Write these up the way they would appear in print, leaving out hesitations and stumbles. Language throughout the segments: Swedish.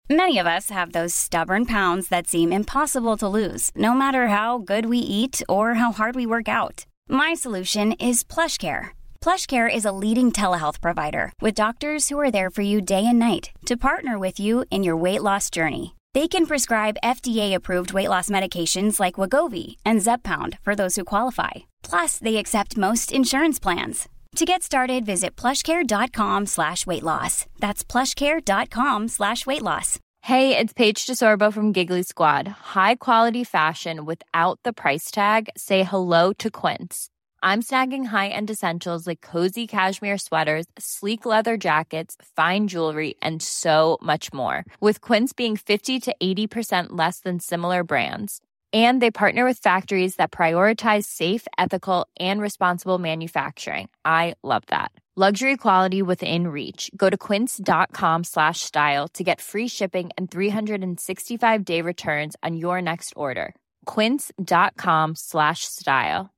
Many of us have those stubborn pounds that seem impossible to lose, no matter how good we eat or how hard we work out. My solution is PlushCare. PlushCare is a leading telehealth provider with doctors who are there for you day and night to partner with you in your weight loss journey. They can prescribe FDA-approved weight loss medications like Wegovy and Zepbound for those who qualify. Plus, they accept most insurance plans. To get started, visit plushcare.com/weightloss. That's plushcare.com/weightloss. Hey, it's Paige DeSorbo from Giggly Squad. High quality fashion without the price tag. Say hello to Quince. I'm snagging high-end essentials like cozy cashmere sweaters, sleek leather jackets, fine jewelry, and so much more. With Quince being 50 to 80% less than similar brands. And they partner with factories that prioritize safe, ethical, and responsible manufacturing. I love that. Luxury quality within reach. Go to quince.com/style to get free shipping and 365-day returns on your next order. Quince.com/style.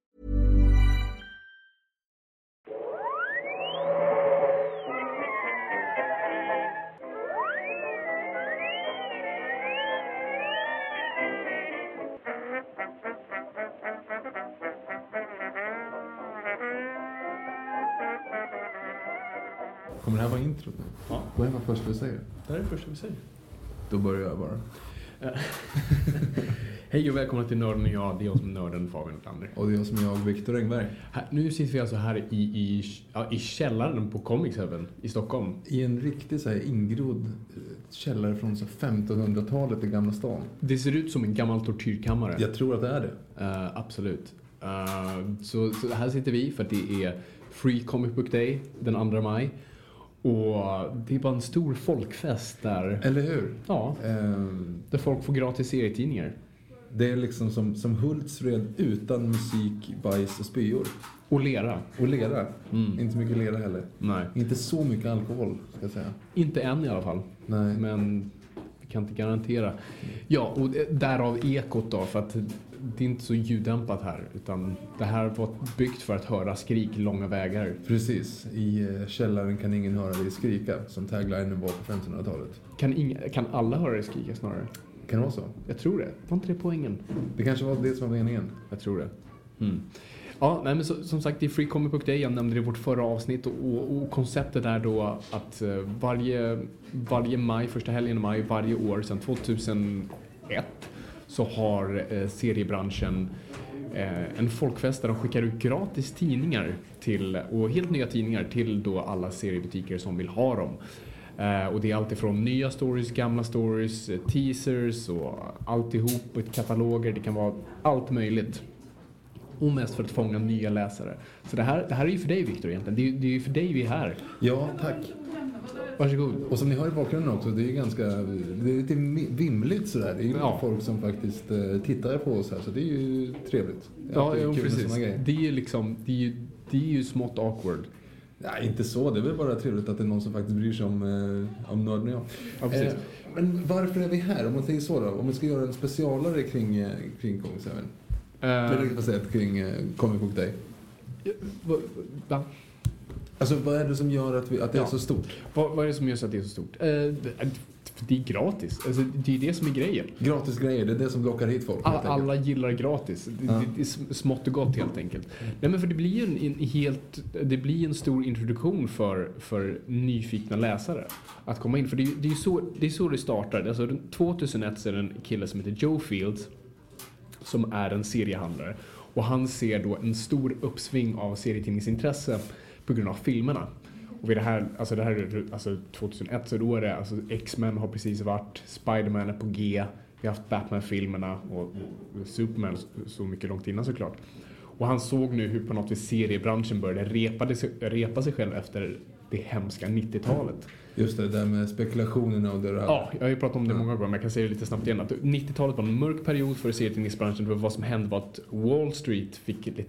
Kommer det här vara intro nu? Ja. Vad är det första vi säger? Det här är det första vi säger. Då börjar jag bara. Hej och välkomna till Nörden och jag. Det är jag som är nörden, Fabian Lander. Och det är jag som är jag, Viktor Engberg. Nu sitter vi alltså här i källaren på Comics Heaven i Stockholm. I en riktig så här ingrodd källare från så 1500-talet i Gamla stan. Det ser ut som en gammal tortyrkammare. Jag tror att det är det. Absolut. Så här sitter vi för att det är Free Comic Book Day den 2 maj. Och det är bara en stor folkfest där. Eller hur? Ja, där folk får gratis serietidningar. Det är liksom som Hultsfred utan musik, bajs och spyor. Och lera. Och lera. Inte så mycket lera heller. Nej. Inte så mycket alkohol, ska jag säga. Inte än i alla fall. Nej. Men vi kan inte garantera. Ja, och därav ekot då. För att det är inte så ljuddämpat här. Utan det här var byggt för att höra skrik långa vägar. Precis. I källaren kan ingen höra dig skrika. Som taglinen var på 1500-talet. Kan alla höra dig skrika snarare? Kan det vara så? Jag tror det. Var inte det poängen? Det kanske var det som var meningen. Jag tror det. Ja, nej, men som sagt, det är Free Comic Book Day. Jag nämnde det i vårt förra avsnitt. Och konceptet är då att varje maj, första helgen i maj, varje år sedan 2001 så har seriebranschen en folkfest där de skickar ut gratis tidningar och helt nya tidningar till då alla seriebutiker som vill ha dem. Och det är allt ifrån nya stories, gamla stories, teasers och alltihop, och kataloger. Det kan vara allt möjligt. Och mest för att fånga nya läsare. Så det här är ju för dig, Viktor, egentligen. Det är ju för dig vi är här. Ja, tack. Varsågod. Och som ni har i bakgrunden också, det är lite vimligt sådär. Det är ju folk som faktiskt tittar på oss här, så det är ju trevligt. Ja, precis. Det är ju liksom, det är ju smått awkward. Nej, inte så. Det är väl bara trevligt att det är någon som faktiskt bryr sig om nörden och jag. Ja, precis. Men varför är vi här? Om man tänker så då. Om vi ska göra en specialare kring Comics Heaven. Kring Comic Book Day. Va? Alltså, vad är det som gör att det är så stort? Vad är det som gör så att det är så stort? Det är gratis. Alltså, det är det som är grejen. Gratis grejer, det är det som lockar hit folk. Alla gillar gratis. Det är smått och gott helt enkelt. Nej, men för det blir ju en stor introduktion för nyfikna läsare att komma in. För det är så det startar. Alltså, 2001 så är det en kille som heter Joe Fields som är en seriehandlare. Och han ser då en stor uppsving av serietidningsintresse på grund av filmerna. Och vid det här är 2001, så då är det X-Men har precis varit, Spider-Man är på G, vi har haft Batman-filmerna och Superman så mycket långt innan såklart. Och han såg nu hur på något vis seriebranschen började repa sig själv efter det hemska 90-talet. Just det där med spekulationerna och det där. Ja, jag har ju pratat om det många gånger, men jag kan säga det lite snabbt igen. Att 90-talet var en mörk period för serietidningsbranschen. Vad som hände var att Wall Street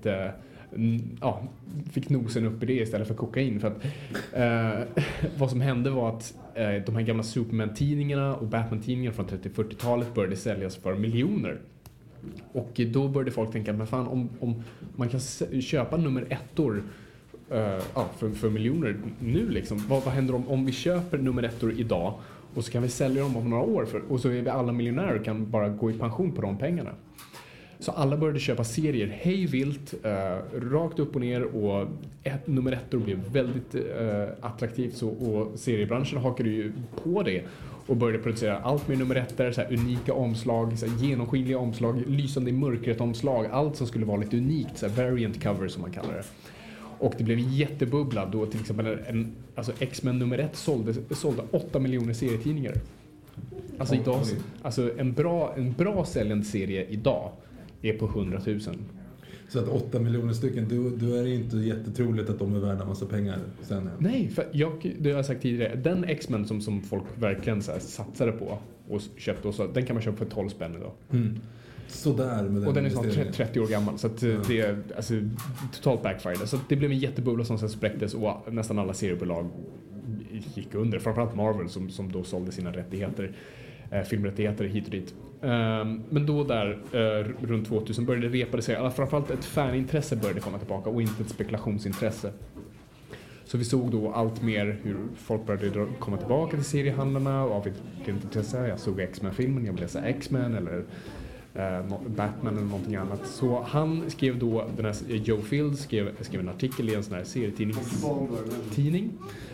fick nosen upp i det istället för kokain. För att vad som hände var att de här gamla Superman-tidningarna och Batman-tidningarna från 30-40-talet började säljas för miljoner. Och då började folk tänka, men fan, om man kan köpa nummer 1-or för miljoner nu liksom. Vad händer om vi köper nummer 1-or idag Och så kan vi sälja dem om några år och så är vi alla miljonärer och kan bara gå i pension på de pengarna. Så alla började köpa serier hej vilt, rakt upp och ner, och nummer 1 blev väldigt attraktivt, och seriebranschen hakade ju på det och började producera allt med nummer 1 där, så här unika omslag, så här genomskinliga omslag, lysande i mörkret omslag, allt som skulle vara lite unikt, så här variant cover som man kallar det. Och det blev jättebubbla då till exempel alltså X-Men nummer 1 sålde 8 miljoner serietidningar. Alltså idag, alltså en bra säljande serie idag är på 100 000. Så att 8 miljoner stycken, då är det inte jättetroligt att de är värda massa pengar sen. Nej, för det har jag sagt tidigare. Den X-Men som folk verkligen så här satsade på och köpte, och så, den kan man köpa för 12 spänn idag. Mm. Sådär med den. Och den är snart 30 år gammal, så att det är alltså totalt backfired. Så det blev en jättebubbla som sen spräcktes, och nästan alla seriebolag gick under. Framförallt Marvel som då sålde sina rättigheter, filmrättigheter hit och dit. Men då där runt 2000 började det repa sig. Framförallt ett fanintresse började komma tillbaka och inte ett spekulationsintresse. Så vi såg då allt mer hur folk började komma tillbaka till seriehandlarna och av ett intresse. Jag såg X-Men-filmen, jag ville läsa X-Men eller Batman eller någonting annat. Så han skrev då, den här Joe Field skrev en artikel i en sån här serietidning.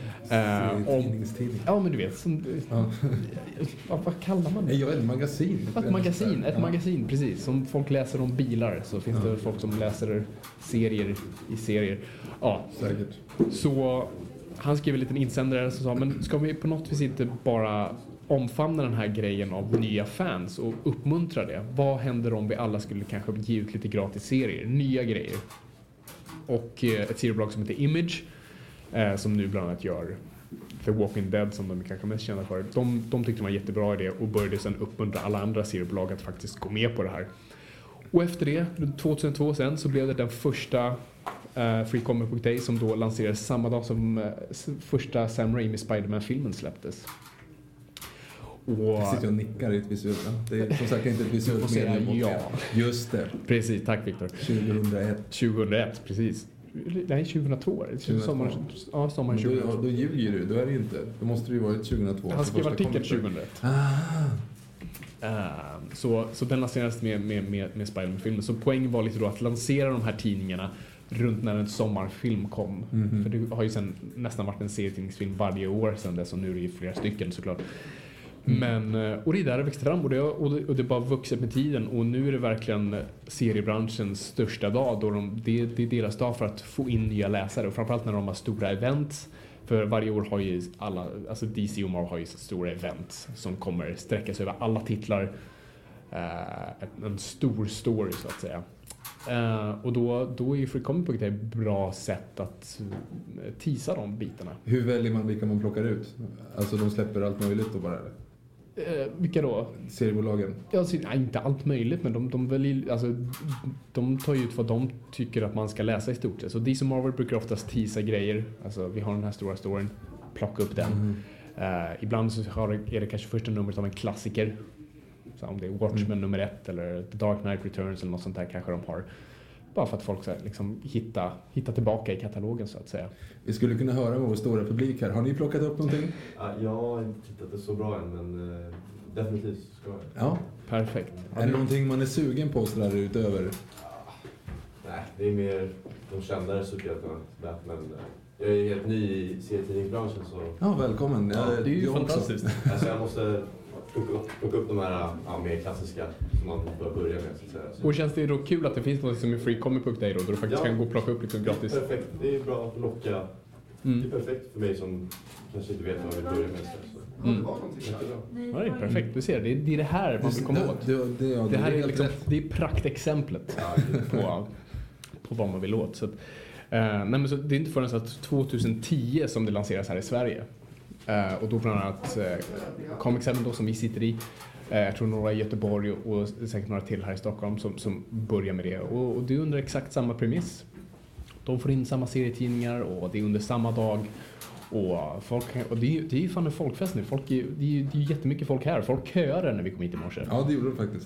Ja, men du vet vad kallar man det? Ja, ett magasin. Ett magasin, precis. Som folk läser om bilar, så finns det folk som läser serier. Ja, säkert. Så han skrev en liten insändare som sa, men ska vi på något vis inte bara omfamna den här grejen av nya fans och uppmuntra det? Vad händer om vi alla skulle kanske ge ut lite gratis serier, nya grejer? Och ett seriebolag som heter Image, som nu bland annat gör The Walking Dead, som de kanske mest kända för. De tyckte det var en jättebra idé och började sedan uppmuntra alla andra seriebolag att faktiskt gå med på det här. Och efter det, 2002 sen, så blev det den första Free Comic Book Day, som då lanserades samma dag som första Sam Raimi Spider-Man-filmen släpptes. Jag sitter och nickar i ett visuellt. Det är som sagt inte ett visuellt medium. Ja. Just det. Precis, tack Victor. 2001, precis. Nej, 2002. Sommaren 2002. Då ljuger du, då är det inte. Då måste det ju varit 2002. Han skrev artikel 2001. Så den lanserades med Spider-Man-filmen. Så poängen var lite då att lansera de här tidningarna runt när en sommarfilm kom. För det har ju sen nästan varit en serietidningsfilm varje år sedan dess, och nu är det ju flera stycken såklart. Men, och det är där det växte fram, och det bara vuxit med tiden, och nu är det verkligen seriebranschens största dag, då det är deras dag för att få in nya läsare, och framförallt när de har stora events. För varje år har ju alla, alltså DC och Marvel har ju stora event som kommer sträcka sig över alla titlar, en stor story så att säga. Och då är ju Free Comic Book ett bra sätt att teasa de bitarna. Hur väljer man vilka man plockar ut? Alltså de släpper allt möjligt då bara? Vilka då? Seriebolagen? Ja, inte allt möjligt, men de väljer, alltså, de tar ju ut vad de tycker att man ska läsa i stort sett. Så DC och Marvel brukar oftast teasa grejer. Alltså vi har den här stora storyn, plocka upp den. Ibland så är det kanske första numret av en klassiker. Så om det är Watchmen nummer 1 eller The Dark Knight Returns eller något sånt där kanske de har. Bara för att folk ska liksom hitta tillbaka i katalogen så att säga. Vi skulle kunna höra vår stora publik här. Har ni plockat upp någonting? Jag har inte tittat det så bra än, men definitivt ska jag. Ja, perfekt. Är det någonting man är sugen på så där utöver? Nej, det är mer de kändare superhjältarna. Men jag är helt ny i serietidningsbranschen så... Ja, välkommen. Ja, det är ju fantastiskt. Alltså jag måste plocka upp de här mer klassiska som man bör börja med så att säga. Och känns det då kul att det finns något som är Free Comic Book Day då du faktiskt kan gå och plocka upp lite gratis? Perfekt, det är bra att locka. Det är perfekt för mig som kanske inte vet vad jag vill börja med. Ja, det är perfekt. Du ser, det är det här man vill komma åt. Det här är liksom, det är praktexemplet på vad man vill åt. Så att, nej, men så det är inte förrän att 2010 som det lanseras här i Sverige. Och då bland annat Comic 7 då som vi sitter i. Jag tror några i Göteborg och säkert några till här i Stockholm som börjar med det. Och det är under exakt samma premiss. De får in samma serietidningar och det är under samma dag. Och det är ju fan en folkfest nu. Det är ju jättemycket folk här. Folk köar när vi kom hit i morse. Ja, det gjorde de faktiskt.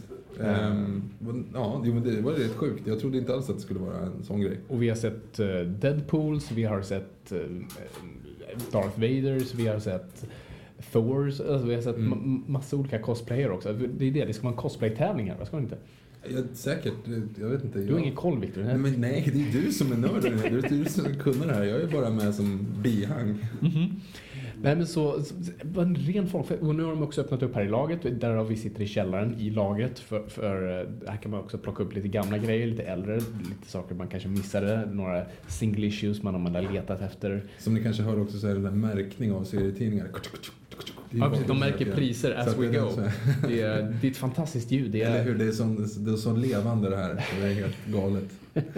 Ja, men det var rätt sjukt. Jag trodde inte alls att det skulle vara en sån grej. Och vi har sett Deadpools, vi har sett Darth Vaders, vi har sett Thors, alltså vi har sett massa olika cosplayer också. Det ska vara en cosplay-tävling här, ska det inte? Ja, säkert, jag vet inte. Du har ingen koll, Victor. Nej, det är du som är nörden. Det är du som kunner det här. Jag är bara med som bihang. Nej, men så var en ren folk. Och nu har de också öppnat upp här i laget. Där vi sitter i källaren i lagret. För här kan man också plocka upp lite gamla grejer, lite äldre. Lite saker man kanske missade. Några single issues man har letat efter. Som ni kanske hör också så är det en märkning av serietidningar. Ja, precis, de märker priser as we go. Det är ett fantastiskt ljud. Eller hur, det är så levande det här. Det är helt galet.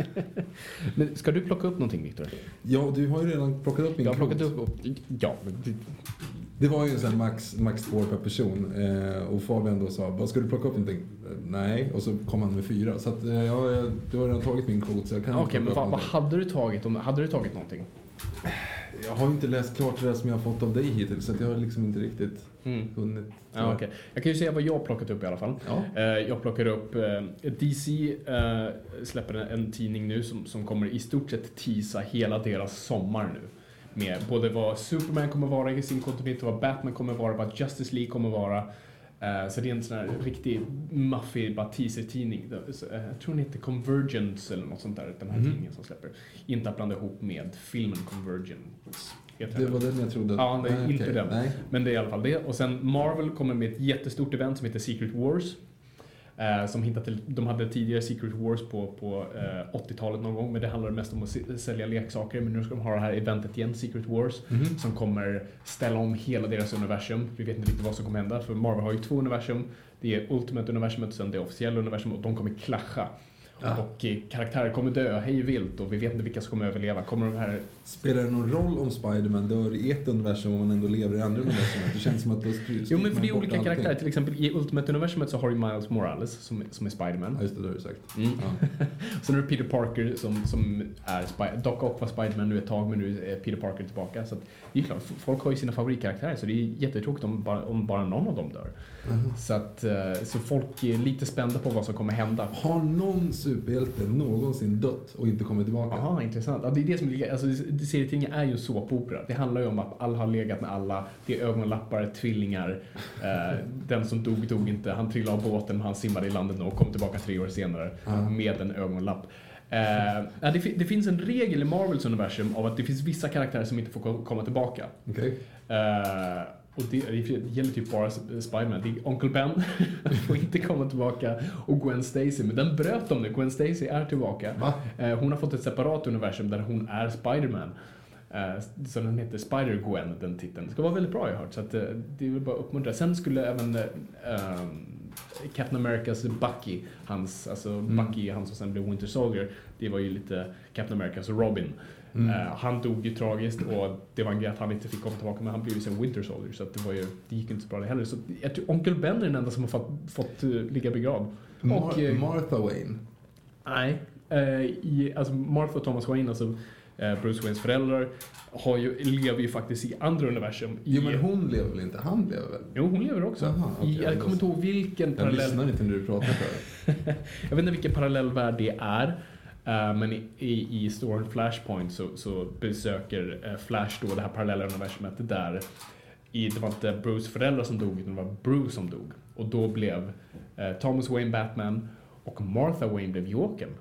Men ska du plocka upp någonting, Victor? Ja, du har ju redan plockat upp min Jag har plockat upp. Ja. Det var ju en sån max 2 per person. Och Fabian då sa, vad ska du plocka upp någonting? Nej, och så kom han med 4. Så att, du har redan tagit min kvot. Okej, men vad hade du tagit? Hade du tagit någonting? Jag har inte läst klart det som jag har fått av dig hittills, så att jag har liksom inte riktigt hunnit. Ja, okay. Jag kan ju säga vad jag har plockat upp i alla fall. Ja. Jag plockar upp DC släpper en tidning nu som kommer i stort sett teasa hela deras sommar nu. Med både vad Superman kommer vara i sin kontinuitet, vad Batman kommer vara, vad Justice League kommer vara. Så det är en sån här riktig maffig teaser-tidning. Jag tror den heter Convergence eller något sånt där, den här tidningen som släpper. Inte att blanda ihop med filmen Convergence. Det var den jag trodde. Ja, det är inte den. Nej. Men det är i alla fall det. Och sen Marvel kommer med ett jättestort event som heter Secret Wars. Som hittat till, de hade tidigare Secret Wars på 80-talet någon gång, men det handlar mest om att sälja leksaker. Men nu ska de ha det här eventet igen, Secret Wars, som kommer ställa om hela deras universum. Vi vet inte riktigt vad som kommer hända, för Marvel har ju 2 universum. Det är Ultimate-universumet och sen det officiella universum, och de kommer klascha. Ja. Och karaktärer kommer dö hej vilt och vi vet inte vilka som kommer överleva. Kommer de här... Spelar det någon roll om Spider-Man dör i ett universum och man ändå lever i andra universum? Det känns som att då jo, men för det är olika karaktärer. Till exempel i Ultimate-universumet så har du Miles Morales som är Spider-Man. Ja, just det, har du sagt. Ja. Sen är det Peter Parker som är Doc Ock var Spider-Man nu ett tag, men nu är Peter Parker tillbaka. Så att, det är klart, folk har ju sina favoritkaraktärer, så det är jättetråkigt om bara någon av dem dör. Så folk är lite spända på vad som kommer hända. Har någon superhjälte någonsin dött och inte kommit tillbaka? Aha, intressant. Ja, det är det som ligger, alltså serietidningar är ju såpopera. Det handlar ju om att alla har legat med alla. Det är ögonlappar, tvillingar. Den som dog inte. Han trillade av båten, men han simmade i landet och kom tillbaka 3 år senare med en ögonlapp. Det finns en regel i Marvels universum av att det finns vissa karaktärer som inte får komma tillbaka. Okay. Och det gäller typ bara Spider-Man. Det är Uncle Ben får inte komma tillbaka, och Gwen Stacy, men den bröt de nu. Gwen Stacy är tillbaka. Hon har fått ett separat universum där hon är Spider-Man. Så den heter Spider-Gwen, den titeln. Det ska vara väldigt bra, jag har hört. Så att, det är väl bara uppmuntra. Sen skulle även Captain Americas Bucky, Bucky, han som sen blev Winter Soldier, det var ju lite Captain Americas Robin. Han dog ju tragiskt, och det var en grej att han inte fick komma tillbaka, men han blev ju sen Winter Soldier, så att det gick inte så bra det heller. Så jag tror Onkel Ben är den enda som har fått ligga begravd. Martha Wayne? Nej, alltså Martha och Thomas Wayne, alltså Bruce Waynes föräldrar lever ju faktiskt i andra universum. Jo, men hon lever väl inte? Han lever väl? Jo, hon lever också. Aha, okay, jag kommer inte ihåg vilken parallell... Jag lyssnar inte när du pratar för. Jag vet inte vilken parallellvärld det är. Men i storyn Flashpoint så besöker Flash då det här parallella universumet där det var inte Bruce föräldrar som dog, utan det var Bruce som dog. Och då blev Thomas Wayne Batman och Martha Wayne blev Jokern.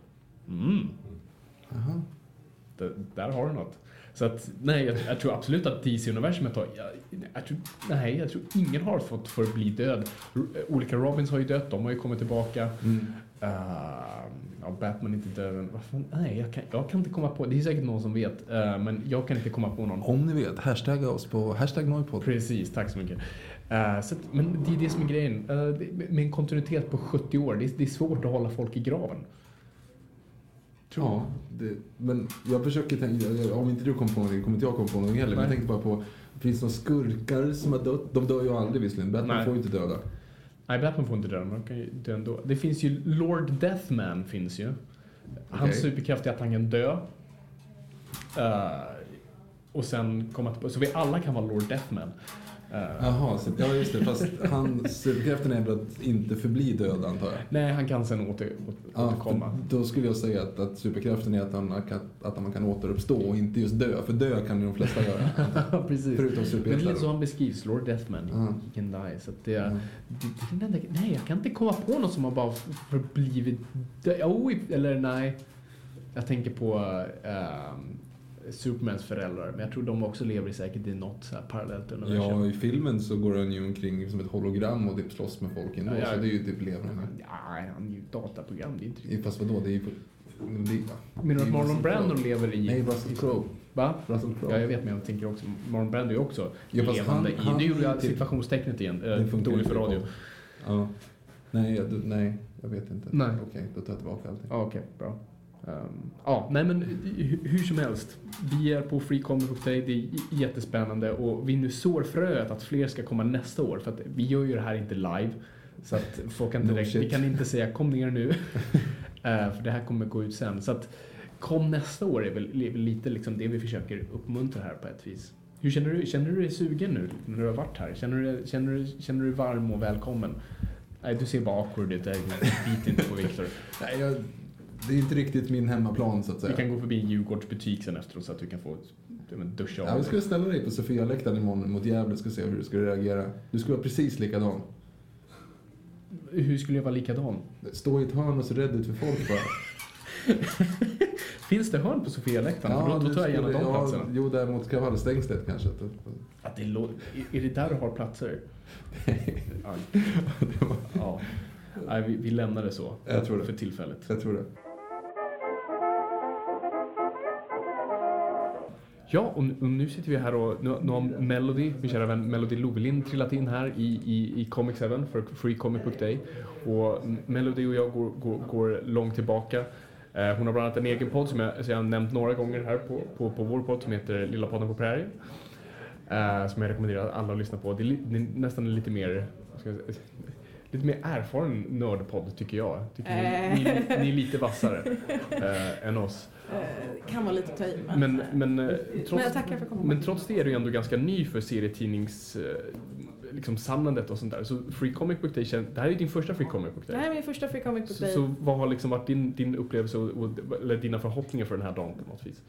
Där har du något. Så att, nej, jag tror absolut att DC-universumet har... Jag tror ingen har fått för att bli död. Olika Robins har ju dött, de har ju kommit tillbaka. Batman är inte död. Nej, jag kan inte komma på... Det är säkert någon som vet, men jag kan inte komma på någon. Om ni vet, hashtagga oss på #Noipod. Precis, tack så mycket. Men det är det som är grejen. Med en kontinuitet på 70 år, det är svårt att hålla folk i graven. Ja, men jag försöker tänka, om inte du kom på någonting, kommer inte jag komma på någonting heller. Men jag tänkte bara på, finns det några skurkar som har dött? De dör ju aldrig visserligen, Batman får ju inte döda. Nej, Batman får inte döda, man kan ju dö ändå. Det finns ju Lord Deathman finns ju. Hans superkraft är att han kan dö. Och sen komma tillbaka, så vi alla kan vara Lord Deathman. Jaha, ja just det. Fast hans superkraften är att inte förbli död, antar jag. Nej, han kan sen återkomma. Då skulle jag säga att superkraften är att man kan återuppstå och inte just dö. För dö kan ju de flesta göra. Precis. Förutom superhjältar. Men det är så han beskrivs, Lord Deathman. He can die. Så att det är... Nej, jag kan inte komma på något som har bara förblivit död. Eller nej. Jag tänker på... Supermans föräldrar, men jag tror de också lever säkert i något så här parallellt universum. Ja, i filmen så går han ju omkring som ett hologram och typ slåss med folk ändå, så det är ju typ levande. Ja, han är ju dataprogram, det är inte riktigt. Fast vadå, det är ju... Men att Marlon Brando lever i... Nej, Russell Crowe. Va? Russell Crowe. Ja, jag vet, men jag tänker också, Marlon Brando är ju också fast levande han nu gjorde jag typ, situationstecknet igen, dåligt för radio. Ja. Nej, jag vet inte. Nej. Okej, då tar jag tillbaka allting. Okej, bra. Nej men hur som helst, vi är på Free Comic Book Day, det är jättespännande och vi nu sår fröet att fler ska komma nästa år, för att vi gör ju det här inte live, så att folk kan inte vi kan inte säga kom ner nu för det här kommer gå ut sen, så att kom nästa år är väl lite liksom det vi försöker uppmuntra här på ett vis. Hur känner du dig sugen nu när du har varit här? Känner du varm och välkommen? Nej, du ser bara awkward ut, bit inte på Victor. Nej, det är inte riktigt min hemmaplan, så att säga. Vi kan gå förbi en Djurgårdsbutik sen efteråt så att du kan få duscha av. Ja, vi ska ställa dig på Sofia-läktaren imorgon mot Gävle, ska se hur du ska reagera. Du ska vara precis likadan. Hur skulle jag vara likadan? Stå i ett hörn och så rädd ut för folk bara. Finns det hörn på Sofia-läktaren? Ja, då tar jag gärna de platserna. Jo, där mot Kravallstängslet kanske. Är det där du har platser? Ja. Nej, vi lämnar det så. Jag tror det. För tillfället. Jag tror det. Ja, och nu sitter vi här och nu har Melody, min kära vän Melody Lovelin, trillat in här i Comic 7 för Free Comic Book Day. Och Melody och jag går långt tillbaka. Hon har bland annat en egen podd som jag har nämnt några gånger här på vår podd som heter Lilla podden på prärien. Som jag rekommenderar alla att lyssna på. Det är nästan lite mer erfaren nördpodd tycker jag. Ni är lite vassare än oss. Kan vara lite töj, men jag tackar för kommentar. Men trots det är du ändå ganska ny för serietidnings liksom samlandet och sånt där. Så Free Comic Book Day, det här är din första Free Comic Book Day. Det här är min första Free Comic Book Day. Så vad har liksom varit din upplevelse eller dina förhoppningar för den här dagen på något vis?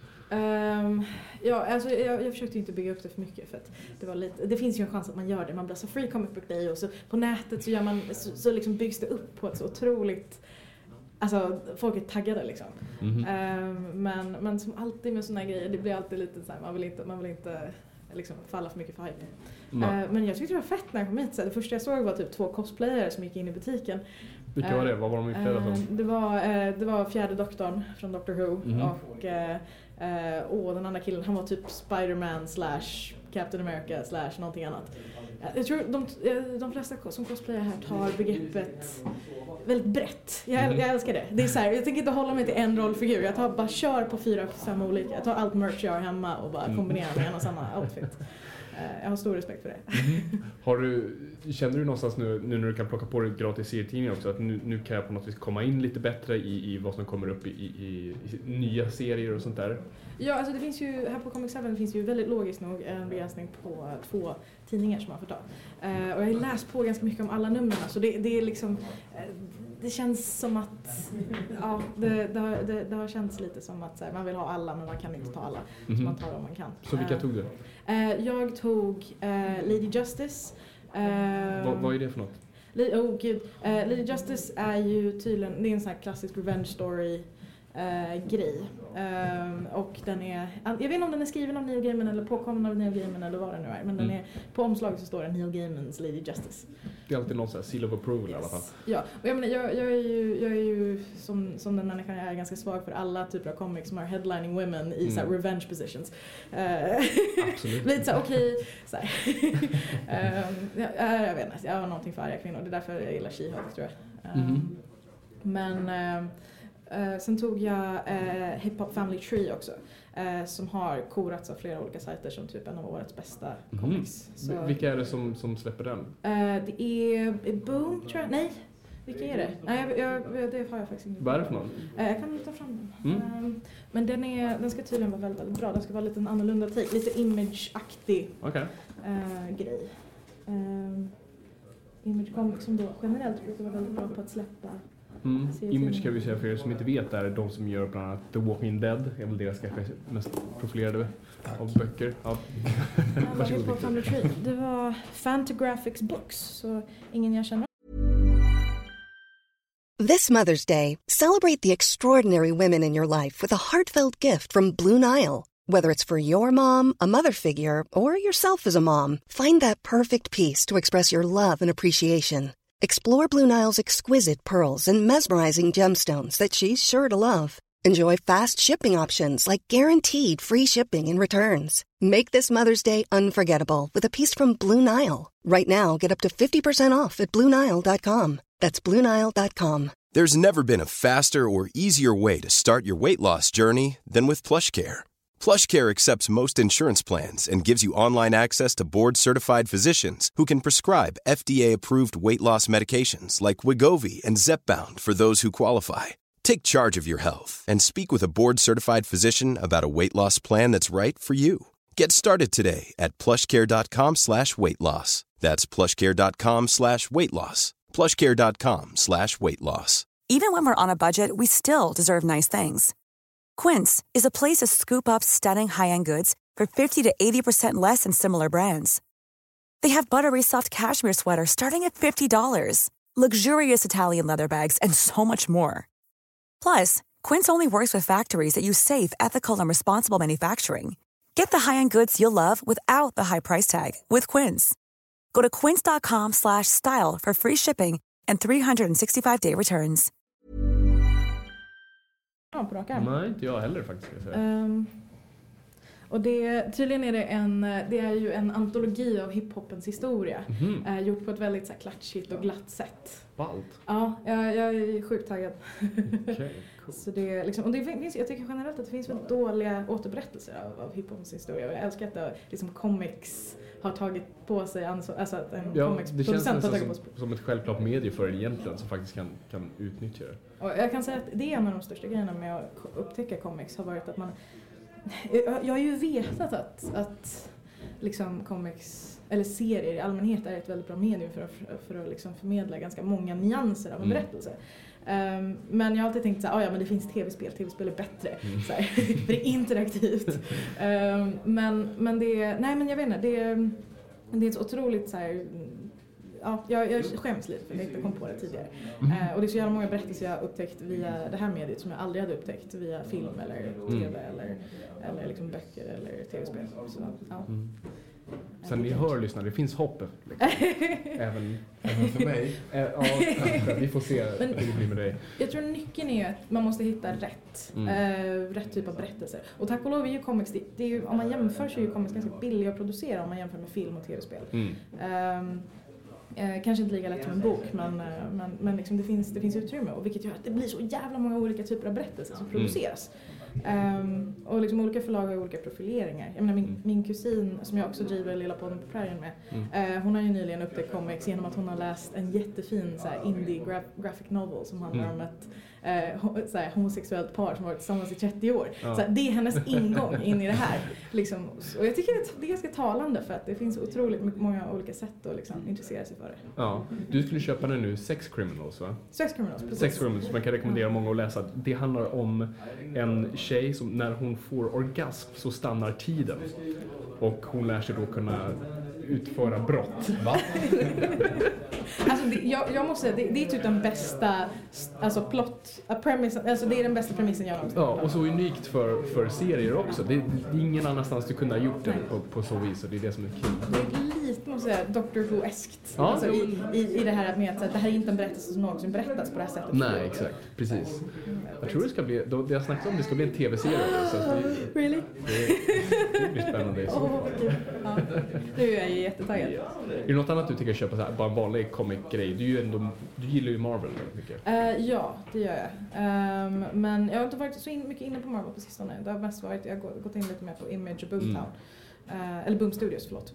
Ja, alltså jag försökte inte bygga upp det för mycket för att det var lite, det finns ju en chans att man gör det. Man blir så Free Comic Book Day och så på nätet så gör man så liksom byggs det upp på ett så otroligt, alltså folk är taggade liksom. Men som alltid med såna här grejer, det blir alltid lite så här, man vill inte liksom falla för mycket för hype. Men jag tyckte det var fett när jag kom hit. Så det första jag såg var typ 2 cosplayare som gick in i butiken. Vilka var det? Vad var de utklädda som? Det var fjärde doktorn från Doctor Who och den andra killen, han var typ Spider-Man / Captain America / någonting annat. Jag tror de flesta som cosplayar här tar begreppet väldigt brett. Jag älskar det. Det är så här, jag tänker inte hålla mig till en rollfigur. Jag bara kör på 4-5 olika. Jag tar allt merch jag har hemma och bara kombinerar med en och samma outfit. Jag har stor respekt för det. Känner du någonstans nu när du kan plocka på dig gratis serietidningar också att nu kan jag på något vis komma in lite bättre i vad som kommer upp i nya serier och sånt där? Ja, alltså det finns ju här på Comic 7 finns ju väldigt logiskt nog en begränsning på 2 tidningar som man får ta. Och jag har läst på ganska mycket om alla numren, så det är liksom det känns som att det har känts lite som att man vill ha alla men man kan inte ta alla. Så man tar dem man kan. Så vilka tog du? Jag tog Lady Justice. Vad är det för något? Lady Justice är ju tydligen, det är en sån här klassisk revenge story grej. Och den är, jag vet inte om den är skriven av Neil Gaiman eller påkommen av Neil Gaiman eller vad det nu är, men den är, på omslaget så står det Neil Gaimans Lady Justice. Det är alltid någon sån här seal of approval i alla fall. Ja, och jag menar, jag är ju som den människan jag är ganska svag för alla typer av comics som har headlining women i så här revenge positions. Absolut. Lite så okej, så här. Jag vet inte, jag har någonting för arga kvinnor, det är därför jag gillar She-Hulk tror jag. Men sen tog jag Hip Hop Family Tree också, som har korats av flera olika sajter som typ en av årets bästa comics. Så, vilka är det som släpper den? Det är Boom tror jag. Nej, vilka är det? Nej, det har jag faktiskt inte. Vad är det för någon? Jag kan ta fram den. Men den ska tydligen vara väldigt, väldigt bra. Den ska vara lite en annorlunda take, lite image-aktig grej. Image Comics som då generellt brukar vara väldigt bra på att släppa. Image kan vi säga för er som inte vet är de som gör bland annat The Walking Dead. Är väl deras kanske mest profilerade av böcker. Ja. Det var Fantagraphics Books, så ingen jag känner. This Mother's Day, celebrate the extraordinary women in your life with a heartfelt gift from Blue Nile. Whether it's for your mom, a mother figure, or yourself as a mom, find that perfect piece to express your love and appreciation. Explore Blue Nile's exquisite pearls and mesmerizing gemstones that she's sure to love. Enjoy fast shipping options like guaranteed free shipping and returns. Make this Mother's Day unforgettable with a piece from Blue Nile. Right now, get up to 50% off at BlueNile.com. That's BlueNile.com. There's never been a faster or easier way to start your weight loss journey than with PlushCare. PlushCare accepts most insurance plans and gives you online access to board-certified physicians who can prescribe FDA-approved weight loss medications like Wegovy and Zepbound for those who qualify. Take charge of your health and speak with a board-certified physician about a weight loss plan that's right for you. Get started today at plushcare.com/weightloss. That's plushcare.com/weightloss. plushcare.com/weightloss. Even when we're on a budget, we still deserve nice things. Quince is a place to scoop up stunning high-end goods for 50 to 80% less than similar brands. They have buttery soft cashmere sweaters starting at $50, luxurious Italian leather bags, and so much more. Plus, Quince only works with factories that use safe, ethical, and responsible manufacturing. Get the high-end goods you'll love without the high price tag with Quince. Go to quince.com/style for free shipping and 365-day returns. På raka. Nej, inte jag heller faktiskt. Och tydligen är det är ju en antologi av hiphopens historia. Gjort på ett väldigt så här klatschigt och glatt sätt. Ballt. Ja, jag är sjukt taggad. Okay, cool. Så det liksom, och det finns, jag tycker generellt att det finns väldigt dåliga återberättelser av hiphopens historia. Och jag älskar att liksom comics har tagit på sig alltså att en comicsproducent har tagit på sig. Som ett självklart medie för egentligen som faktiskt kan utnyttja det. Och jag kan säga att det är en av de största grejerna med att upptäcka comics har varit att jag har ju vetat att liksom comics eller serier i allmänhet är ett väldigt bra medium för att liksom förmedla ganska många nyanser av en berättelse. Men jag har alltid tänkt så här, men det finns tv-spel är bättre så här, för det är interaktivt. Men det är, nej men jag vet inte, det är ett så otroligt så här, jag skäms lite för att jag inte kom på det tidigare. Och det är så jävla många berättelser jag har upptäckt via det här mediet som jag aldrig hade upptäckt via film eller tv eller liksom böcker eller tv-spel. Så, ja. Sen ni hör lyssna, det finns hopp liksom. även för mig. Vi får se hur det blir med dig. Jag tror nyckeln är att man måste hitta rätt typ av berättelser. Och tack och lov är ju comics, det är ju, om man jämför så är ju comics ganska billiga att producera om man jämför med film och tv-spel. Kanske inte lika lätt som en bok, men liksom det finns utrymme, och vilket gör att det blir så jävla många olika typer av berättelser som produceras. Och liksom olika förlag har olika profileringar. Jag menar, min kusin som jag också driver Lilla podden på prärien med, hon har ju nyligen upptäckt comics genom att hon har läst en jättefin så här, indie graphic novel som handlar om ett så här, homosexuellt par som varit tillsammans i 30 år. Så här, det är hennes ingång in i det här. Liksom. Och jag tycker att det är ganska talande för att det finns otroligt många olika sätt att liksom, intressera sig för det. Ja, du skulle köpa den nu, Sex Criminals, va? Sex Criminals, precis. Sex Criminals, man kan rekommendera många att läsa. Det handlar om en tjej som när hon får orgasm så stannar tiden. Och hon lär sig då kunna utföra brott. Va? Alltså jag måste säga, det är typ den bästa premissen, alltså det är den bästa premissen jag någonsin. Ja, och så unikt för serier också. Det är ingen annanstans du kunde ha gjort det på så vis, och det är det som är kul. Det är lite, måste jag säga, Doctor Who-eskt. Ja, alltså, i det här med att det här är inte en berättelse som någonsin berättas på det här sättet. Nej, exakt. Precis. Jag tror det ska bli, det jag snackat om, det ska bli en tv-serie. Så really? Det blir spännande. Ja, nu är jag jättetaggad. Är det något annat du tycker köpa så här, bara en vanlig comic-grej? Du gillar ju Marvel väldigt mycket. Ja, det gör jag. Men jag har inte varit så mycket inne på Marvel på sistone. Det har mest varit, jag har gått in lite mer på Image och Boomtown. Eller Boom Studios, förlåt.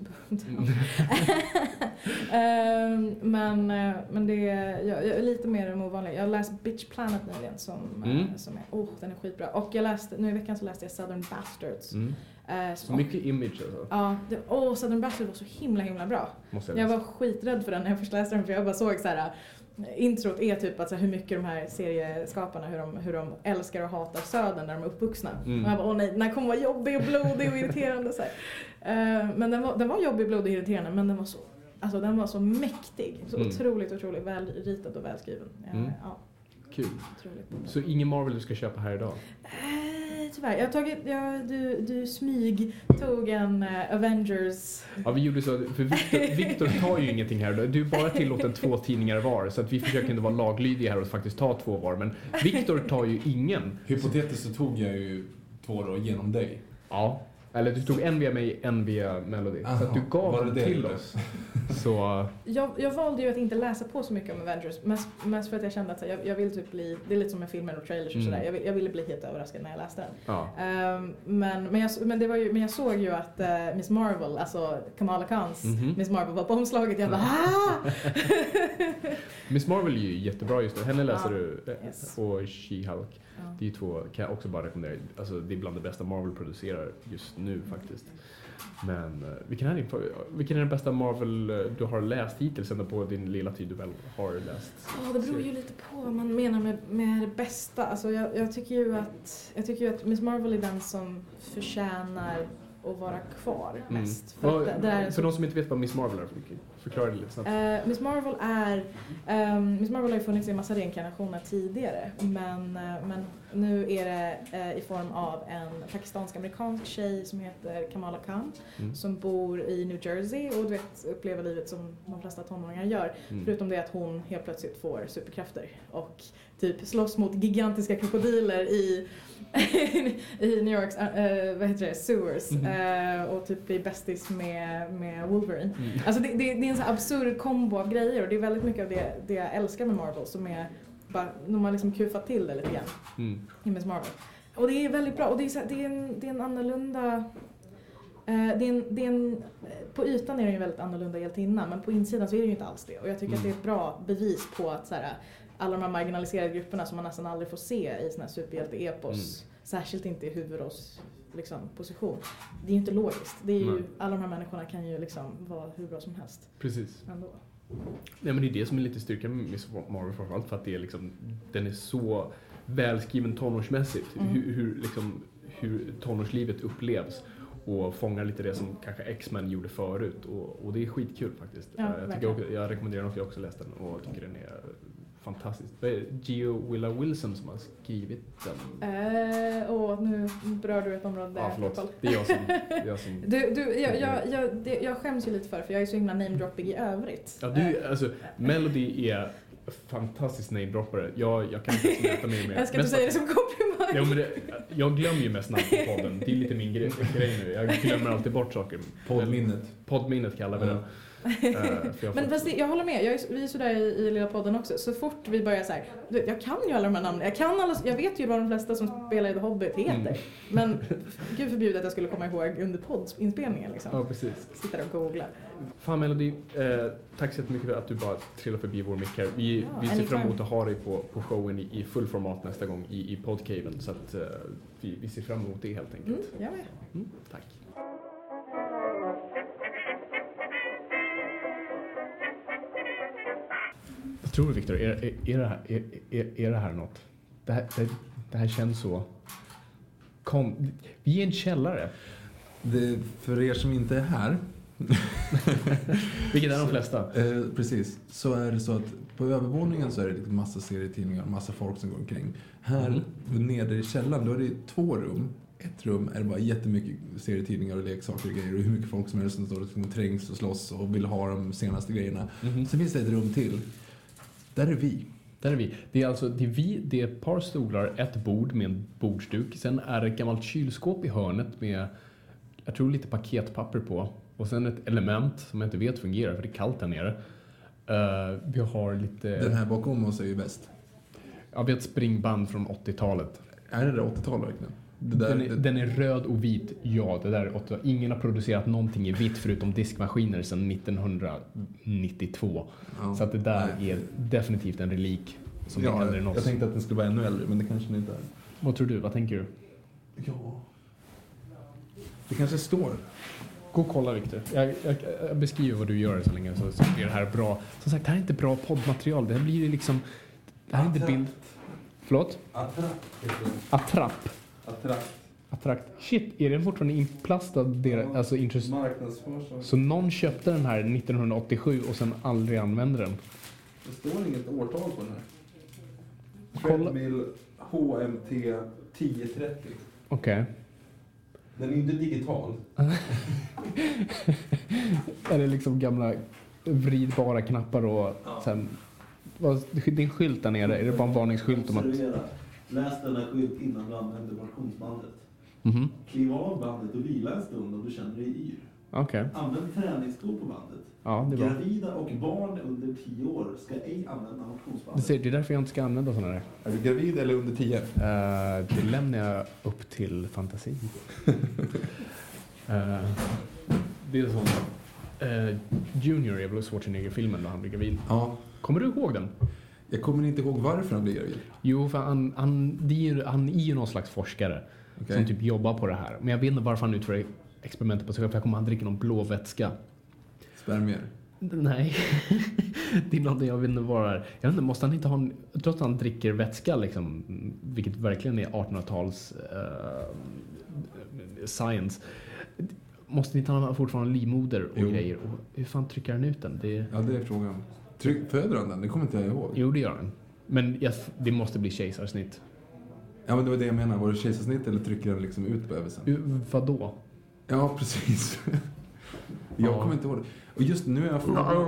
Men det jag är lite mer än ovanligt. Jag har läst Bitch Planet nyligen som är, den är skitbra. Och nu i veckan så läste jag Southern Bastards. Så mycket image alltså. Ja, Southern Bastards var så himla bra. Jag var skiträdd för den när jag först läste den, för jag bara såg så här. Introt är typ att så hur mycket de här serieskaparna hur de älskar och hatar södern när de är uppvuxna. Och jag bara, nej, den här kommer vara jobbig och blodig och irriterande så här. Men den var jobbig, blodig och irriterande, men den var så mäktig, så otroligt väl ritad och välskriven. Ja. Kul. Så ingen Marvel du ska köpa här idag? Tyvärr. Du tog en Avengers. Ja, vi gjorde så, för Victor tar ju ingenting här. Du är bara tillåten 2 tidningar var, så att vi försöker inte vara laglydiga här och faktiskt ta 2 var. Men Victor tar ju ingen. Hypotetiskt så tog jag ju 2 då genom dig. Ja. Eller du tog en via mig, en via Melody. Så att du gav den till oss. Så... Jag valde ju att inte läsa på så mycket om Avengers. Mest för att jag kände att jag vill typ bli... Det är lite som med filmer och trailers och sådär. Jag ville bli helt överraskad när jag läste den. Ja. Men jag såg ju att Miss Marvel, alltså Kamala Khans Miss Marvel var på omslaget. Jag bara Miss Marvel är ju jättebra just nu. Henne läser du. Och She-Hulk. Det är 2, kan jag också bara rekommendera. Alltså, det är bland det bästa Marvel producerar just nu faktiskt. Men vilken är den bästa Marvel du har läst hittills ända på din lilla tid du väl har läst? Det beror ju lite på vad man menar med det bästa. Alltså, jag tycker ju att Miss Marvel är den som förtjänar att vara kvar mest. För de som inte vet vad Miss Marvel är, förklara det lite snabbt. Miss Marvel har ju funnits i en massa reinkarnationer tidigare, men nu är det i form av en pakistansk-amerikansk tjej som heter Kamala Khan som bor i New Jersey och upplever livet som de flesta tonåringar gör. Förutom det att hon helt plötsligt får superkrafter och typ slåss mot gigantiska krokodiler i New Yorks sewers och typ blir bästis med Wolverine. Alltså det är en så absurd kombo av grejer, och det är väldigt mycket av det jag älskar med Marvel, som är bara, de har liksom kufat till det lite grann i Miss Marvel. Och det är väldigt bra, och det är en annorlunda på ytan är det ju väldigt annorlunda hjältinna, men på insidan så är det ju inte alls det. Och jag tycker att det är ett bra bevis på att så här, alla de här marginaliserade grupperna som man nästan aldrig får se i såna här superhjälte-epos, särskilt inte i huvudrolls position. Det är ju inte logiskt. Det är ju, alla de här människorna kan ju liksom vara hur bra som helst. Precis. Ändå. Nej, men det är det som är lite styrka med Miss Marvel framförallt, för att det är liksom, den är så välskriven tonårsmässigt. Hur tonårslivet upplevs. Och fångar lite det som kanske X-Men gjorde förut. Och det är skitkul faktiskt. Ja, jag rekommenderar den, och jag också läst den och tycker den är fantastisk. Det är Gio Wilson som har skrivit den. Nu berör du ett område där. Ja, förlåt. Det är jag som... Jag skäms ju lite för jag är så himla namedroppig i övrigt. Ja, alltså, Melody är fantastisk namedroppare. Jag kan inte mäta mig med. Jag ska inte säga det som komplimang. Ja, men jag glömmer ju mest namn på podden. Det är lite min grej nu. Jag glömmer alltid bort saker. Poddminnet kallar vi det. Men fast jag håller med, vi är sådär i lilla podden också. Så fort vi börjar så här, jag kan ju alla de här namnen. Jag vet ju vad de flesta som spelar i The Hobbit heter. Men gud förbjudet att jag skulle komma ihåg under poddinspelningen liksom. Ja, precis. Sitter och googlar. Fan Melody, tack så mycket för att du bara trillar förbi vår mick här. Vi ser fram emot att ha dig på showen i full format nästa gång i podcaven. Så att vi ser fram emot det helt enkelt. Jag med. Tack. Jag tror Victor, är det här något? Det här känns så... Vi är en källare. För er som inte är här... Vilket är de flesta? Precis. Så är det så att på övervåningen så är det massa serietidningar, massa folk som går omkring. Här nere i källaren, då är det 2 rum. Ett rum är det bara jättemycket serietidningar och leksaker och grejer. Och hur mycket folk som helst som står och trängs och slåss och vill ha de senaste grejerna. Sen finns det ett rum till. Där är vi. Det är alltså det är ett par stolar, ett bord med en bordsduk. Sen är det ett gammalt kylskåp i hörnet med, jag tror, lite paketpapper på. Och sen ett element som jag inte vet fungerar för det är kallt här nere. Vi har lite... Den här bakom oss är ju bäst. Ja, vi har ett springband från 80-talet. Är det 80-talet verkligen? Den är röd och vit. Ja, det där är 8. Ingen har producerat någonting i vitt förutom diskmaskiner sedan 1992. Ja. Så att det där är definitivt en relik som är äldre än oss. Jag tänkte att den skulle vara ännu äldre, men det kanske den inte är. Vad tror du? Vad tänker du? Ja. Det kanske står. Gå och kolla, Victor. Jag beskriver vad du gör så länge så blir det här bra. Som sagt, det här är inte bra poddmaterial. Det här blir ju liksom... Det här är inte bild... Förlåt? Attrapp. Shit, är den fortfarande inplastad? Alltså så någon köpte den här 1987 och sen aldrig använde den. Det står inget årtal på den här. Kolla. Treadmill HMT 1030. Okej. Den är inte digital. Är det liksom gamla vridbara knappar och sen... Din skylt där nere, är det bara en varningsskylt om att... Läs den här skylt innan du använder motionsbandet. Kliv av bandet och vila en stund om du känner dig yr. Okay. Använd träningsskor på bandet. Ja, det Gravida och barn under 10 år ska ej använda motionsbandet. Det är därför jag inte ska använda sådana där. Är du gravid eller under 10? Det lämnar jag upp till fantasin. Det är som Junior i Bruce Schwarzenegger-filmen när han blir gravid. Ja. Kommer du ihåg den? Jag kommer inte ihåg varför han blir gravid. Jo, för han är ju någon slags forskare som typ jobbar på det här. Men jag vet inte varför han utför experimentet på sig själv. För jag kommer han dricka någon blå vätska. Spermier? Nej. Det är något jag vet inte vad det är. Jag vet inte, måste han inte ha trots att han dricker vätska liksom, vilket verkligen är 1800-tals science. Måste inte han ha fortfarande livmoder och grejer? Och hur fan trycker han ut den? Ja, det är frågan. Föder han den? Det kommer inte jag ihåg. Jo, det gör han. Men det måste bli kejsarsnitt. Ja, men det var det jag menar. Var det kejsarsnitt eller trycker den liksom ut på översen? Vadå? Ja, precis. Jag kommer inte ihåg det. Och just nu är jag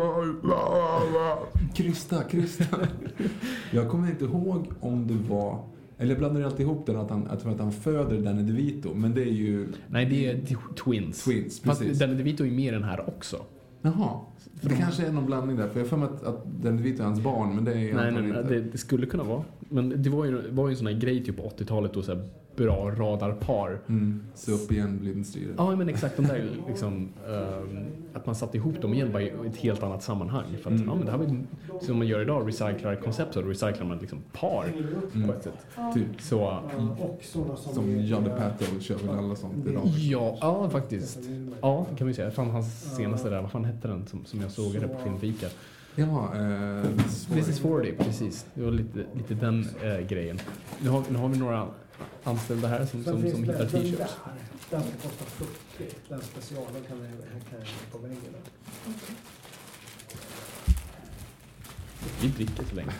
Krista. Jag kommer inte ihåg om det var... Eller jag blandar alltid ihop den att han föder Danny DeVito. Men det är ju... Nej, det är Twins. Twins, precis. Fast Danny DeVito är mer än här också. Jaha. Det kanske är någon blandning där. För jag får mig att Danny DeVito är hans barn. Men det är nej, det skulle kunna vara. Men det var ju en sån här grej typ på 80-talet då, så här bra radarpar. Så upp igen, blindstyre. Ja, men exakt. De där liksom, att man satte ihop dem igen bara i ett helt annat sammanhang. För att men det här var som man gör idag, recyclar ett koncept, så recyclar man liksom par på ett sätt. Typ. Så, som John DePato kör väl alla sånt idag. Ja, faktiskt. Ja, det kan vi säga. Fan, hans senaste där, vad fan hette den som jag såg det på Filmfika? Ja, This is 40, precis. Det var lite den grejen. Nu har vi några anställda här som hittar t-shirts. Den ska kosta 40. Den specialen kan jag på väggen. Vi dricker så länge.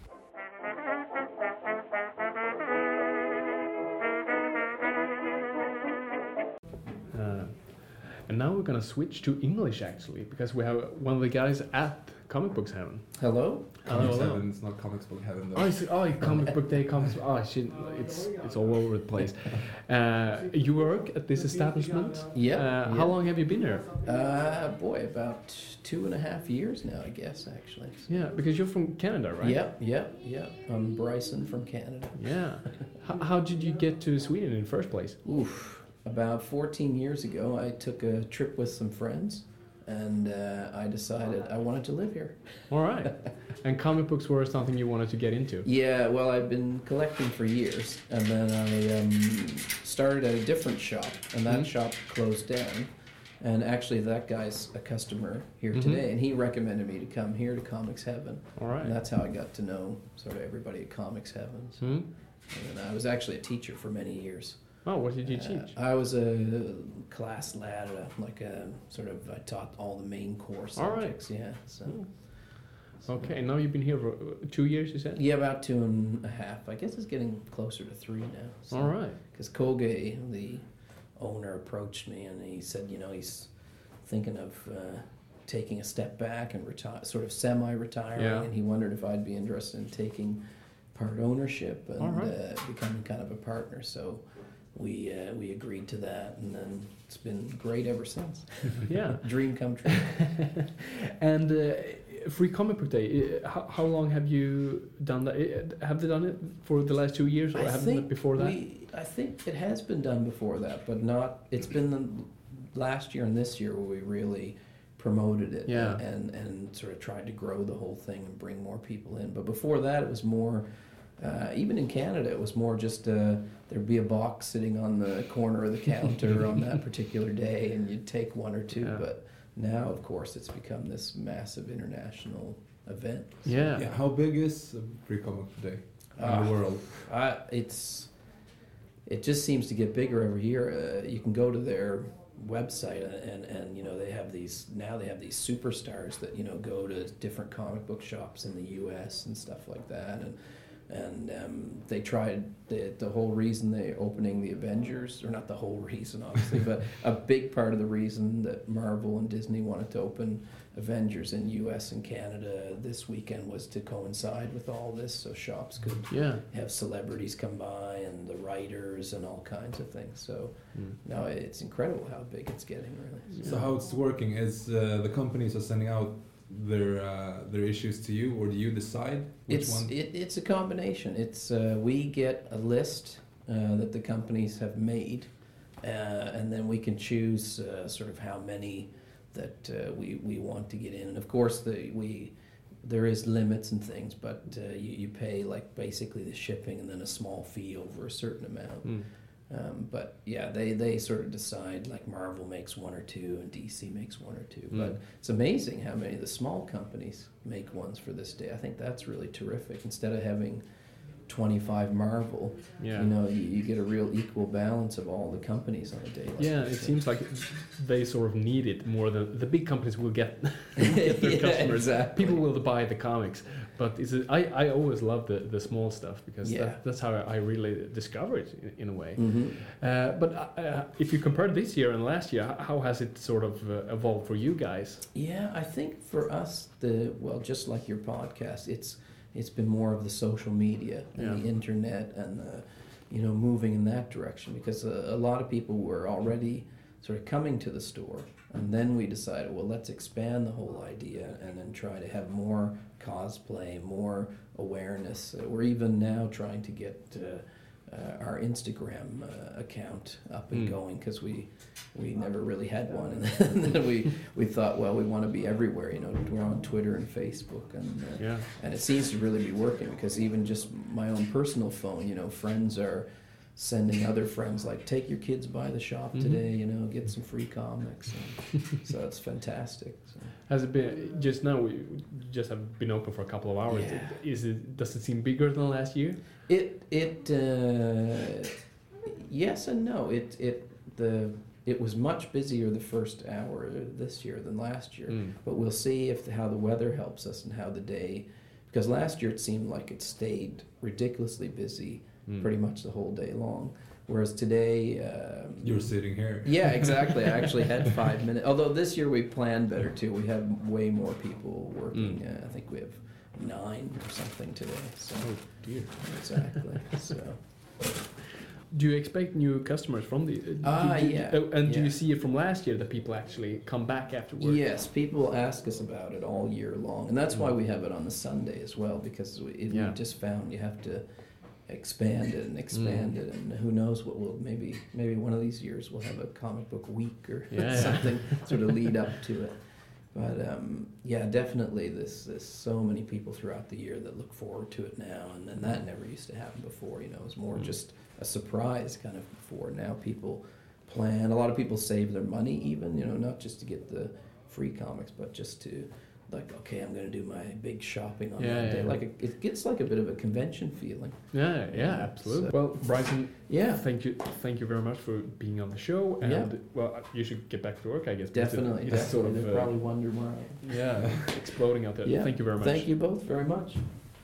And now we're going to switch to English, actually, because we have one of the guys at Comic Books Heaven. Hello. Comics Heaven, it's not Comics Book Heaven though. Comic Book Day, shit, it's all over the place. You work at this establishment? Yeah. How long have you been here? About 2.5 years now, I guess, actually. Yeah, because you're from Canada, right? Yeah. I'm Bryson from Canada. Yeah. How did you get to Sweden in the first place? Oof. About 14 years ago, I took a trip with some friends, and I decided I wanted to live here. All right. And comic books were something you wanted to get into? Yeah, well, I've been collecting for years, and then I started at a different shop, and that shop closed down. And actually, that guy's a customer here today, and he recommended me to come here to Comics Heaven. All right. And that's how I got to know sort of everybody at Comics Heaven. So. And I was actually a teacher for many years. Oh, what did you teach? I was a class lad, I taught all the main core subjects. All right. Yeah. So. Okay, now you've been here for 2 years, you said? Yeah, about 2.5. I guess it's getting closer to 3 now. So, all right. Because Koge, the owner, approached me and he said, he's thinking of taking a step back and sort of semi-retiring, and he wondered if I'd be interested in taking part ownership and becoming kind of a partner. So we agreed to that, and then it's been great ever since. Yeah. Dream come true. And Free Comic Book Day. How long have you done that? Have they done it for the last 2 years, or have they done it before that? I think it has been done before that, but not. It's been the last year and this year where we really promoted it and sort of tried to grow the whole thing and bring more people in. But before that, it was more. Even in Canada, it was more just there'd be a box sitting on the corner of the counter on that particular day, and you'd take one or two. Yeah. But now, of course, it's become this massive international event. So. Yeah. How big is Free Comic Book Day in the world? It just seems to get bigger every year. You can go to their website and they have these superstars that go to different comic book shops in the U.S. and stuff like that, and they tried the whole reason they're opening the Avengers, or not the whole reason obviously, but a big part of the reason that Marvel and Disney wanted to open Avengers in U.S. and Canada this weekend was to coincide with all this, so shops could have celebrities come by and the writers and all kinds of things. So no, it's incredible how big it's getting, really. So how it's working is the companies are sending out their issues to you, or do you decide which one? It's a combination. It's we get a list that the companies have made, and then we can choose sort of how many that we want to get in. And of course there is limits and things, but you pay like basically the shipping and then a small fee over a certain amount. But yeah, they sort of decide, like Marvel makes one or two and DC makes one or two. But it's amazing how many of the small companies make ones for this day. I think that's really terrific. Instead of having 25 Marvel, you get a real equal balance of all the companies on a day like this. It seems like they sort of need it more than the big companies will get their customers. Exactly. People will buy the comics, but I always love the small stuff, because that's how I really discover it in a way. But if you compare this year and last year, how has it sort of evolved for you guys? Yeah, I think for us, just like your podcast, it's been more of the social media and the internet and moving in that direction, because a lot of people were already sort of coming to the store, and then we decided, well, let's expand the whole idea and then try to have more cosplay, more awareness. We're even now trying to get our Instagram account up and going, because we never really had one, and then we thought, well, we want to be everywhere, we're on Twitter and Facebook, and it seems to really be working, because even just my own personal phone, friends are sending other friends, like, take your kids by the shop today, get some free comics, so it's fantastic. So. Has it been, just now we just have been open for a couple of hours, does it seem bigger than last year? Yes and no. It was much busier the first hour this year than last year, but we'll see how the weather helps us and how the day, because last year it seemed like it stayed ridiculously busy pretty much the whole day long, whereas today you're sitting here. Yeah, exactly. I actually had 5 minutes, although this year we planned better too. We have way more people working. I think we have 9 or something today. So. Oh dear. Exactly. So. Do you expect new customers from the? Do you see it from last year that people actually come back afterwards? Yes, people ask us about it all year long, and that's why we have it on the Sunday as well, because we just found you have to expand it, and who knows what will maybe one of these years we'll have a comic book week or something sort of lead up to it. But definitely there's so many people throughout the year that look forward to it now, and that never used to happen before. It was more just a surprise kind of before. Now people plan. A lot of people save their money even, not just to get the free comics, but just to, like, okay, I'm going to do my big shopping on that day. Like it gets like a bit of a convention feeling. Yeah, absolutely. So, well, Bryson, thank you very much for being on the show, and well, you should get back to work, I guess. Definitely. Sort of, they probably wonder why. Exploding out there. Yeah. Thank you very much. Thank you both very much.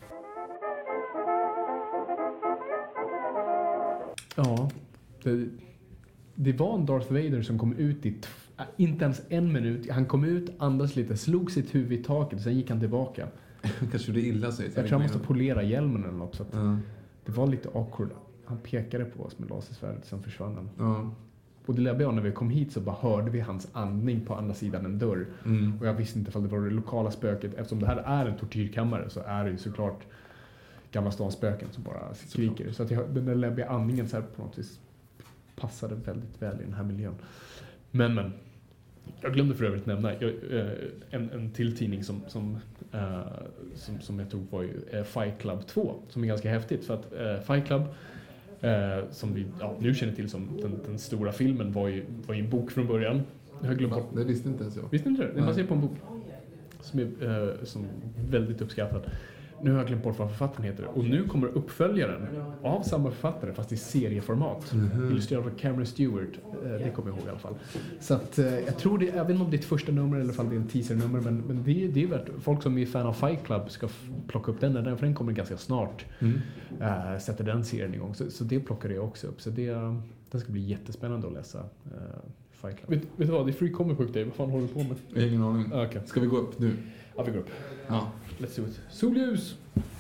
Ja, det var en Darth Vader som kom ut i inte ens 1 minut. Han kom ut, andades lite, slog sitt huvud i taket, sen gick han tillbaka. Kanske det illa sig. Jag tror han måste polera hjälmen eller något, så att det var lite awkward. Han pekade på oss med lasersvärdet, sen försvann han. Ja. Och det läbbiga när vi kom hit så bara hörde vi hans andning på andra sidan en dörr. Och jag visste inte om det var det lokala spöket. Eftersom det här är en tortyrkammare så är det ju såklart Gamla stans spöken som bara skriker. Så att den där läbbiga andningen så här på något vis passade väldigt väl i den här miljön. Men jag glömde för övrigt nämna en till tidning som jag tog var ju Fight Club 2, som är ganska häftigt för att Fight Club som vi nu känner till som den stora filmen var ju en bok från början. Jag har glömt bort. Det visste inte ens jag. Visste inte det? Det är baserat på en bok som är väldigt uppskattad. Nu har jag glömt bort vad författaren heter. Och nu kommer uppföljaren av samma författare fast i serieformat. Illustrerad av Cameron Stewart. Det kommer jag ihåg i alla fall. Så att jag tror det, jag vet inte om det är ett första nummer eller om det är en teasernummer. Men det är värt, folk som är fan av Fight Club ska plocka upp den. För den kommer ganska snart. Sätter den serien igång. Så det plockar jag också upp. Så det ska bli jättespännande att läsa Fight Club. Vet du vad? Det är Free Comic Book Day. Vad fan håller du på med? Ingen aning. Okay. Ska vi gå upp nu? Ja, vi går upp. Ja. Let's do it. Solljus!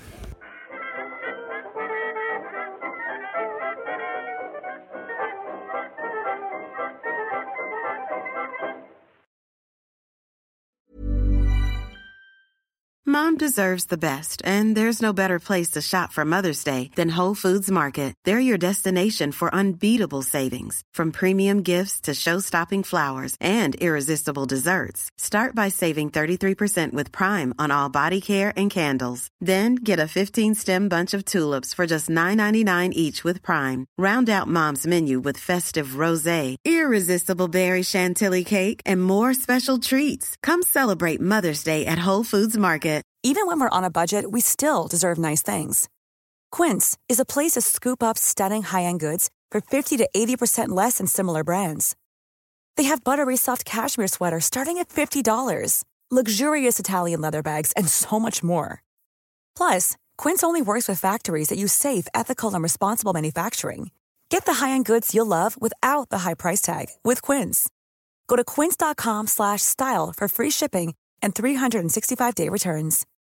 Mom deserves the best, and there's no better place to shop for Mother's Day than Whole Foods Market. They're your destination for unbeatable savings, from premium gifts to show-stopping flowers and irresistible desserts. Start by saving 33% with Prime on all body care and candles. Then get a 15-stem bunch of tulips for just $9.99 each with Prime. Round out Mom's menu with festive rosé, irresistible berry chantilly cake, and more special treats. Come celebrate Mother's Day at Whole Foods Market. Even when we're on a budget, we still deserve nice things. Quince is a place to scoop up stunning high-end goods for 50 to 80% less than similar brands. They have buttery soft cashmere sweaters starting at $50, luxurious Italian leather bags, and so much more. Plus, Quince only works with factories that use safe, ethical, and responsible manufacturing. Get the high-end goods you'll love without the high price tag with Quince. Go to quince.com/style for free shipping and 365-day returns.